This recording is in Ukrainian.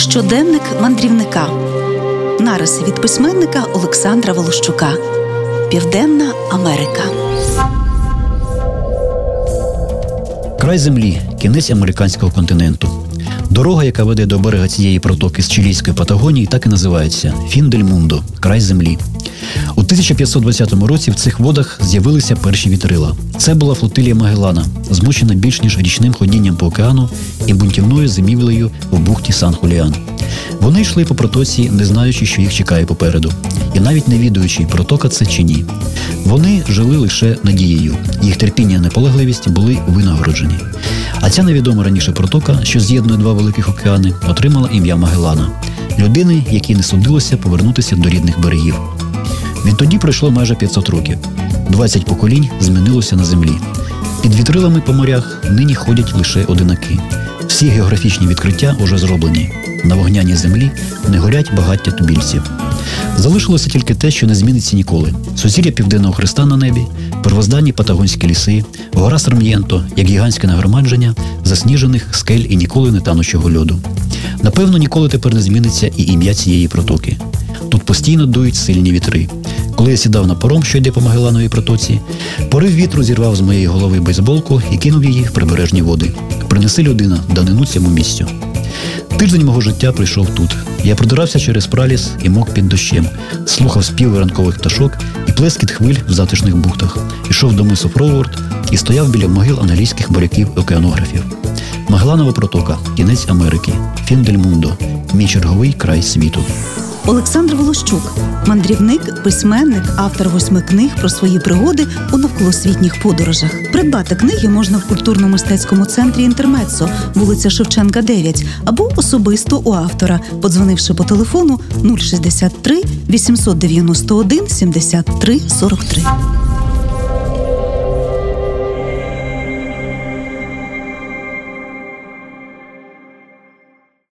Щоденник мандрівника. Нариси від письменника Олександра Волощука. Південна Америка. Край землі – кінець американського континенту. Дорога, яка веде до берега цієї протоки з чилійської Патагонії, так і називається – Фін-дель-Мундо – край землі. У 1520 році в цих водах з'явилися перші вітрила. Це була флотилія Магеллана, змучена більш ніж річним ходінням по океану і бунтівною зимівлею в бухті Сан-Хуліан. Вони йшли по протоці, не знаючи, що їх чекає попереду, і навіть не відаючи, протока це чи ні. Вони жили лише надією. Їх терпіння і наполегливість були винагороджені. А ця невідома раніше протока, що з'єднує два великих океани, отримала ім'я Магеллана – людини, якій не судилося повернутися до рідних берегів. Відтоді пройшло майже 500 років. 20 поколінь змінилося на землі. Під вітрилами по морях нині ходять лише одинаки. Всі географічні відкриття уже зроблені. На вогняній землі не горять багаття тубільців. Залишилося тільки те, що не зміниться ніколи. Сузір'я Південного Хреста на небі, первозданні патагонські ліси, гора Сарм'єнто, як гігантське нагромадження засніжених скель і ніколи не танучого льоду. Напевно, ніколи тепер не зміниться і ім'я цієї протоки. Тут постійно дують сильні вітри. Коли я сідав на паром, що йде по Магеллановій протоці, порив вітру зірвав з моєї голови бейсболку і кинув її в прибережні води. Принеси, людина, данину цьому місцю. Тиждень мого життя прийшов тут. Я продирався через праліс і мок під дощем, слухав співи ранкових пташок і плескіт хвиль в затишних бухтах, ішов до мису Фроуворд і стояв біля могил англійських моряків-океанографів. Магелланова протока – кінець Америки, Фін-дель-Мундо – мій черговий край світу. Олександр Волощук – мандрівник, письменник, автор 8 книг про свої пригоди у навколосвітніх подорожах. Придбати книги можна в культурно-мистецькому центрі «Інтермеццо», вулиця Шевченка, 9, або особисто у автора, подзвонивши по телефону 063 891 73 43.